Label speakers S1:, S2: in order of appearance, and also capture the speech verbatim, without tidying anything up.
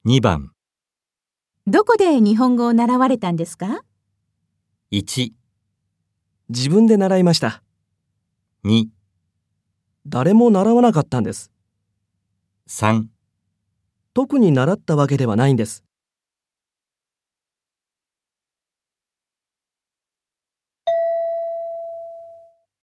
S1: にばん。
S2: どこで日本語を習われたんですか？
S1: いち、
S3: 自分で習いました。
S1: に、
S3: 誰も習わなかったんです。
S1: さん。
S3: 特に習ったわけではないんです。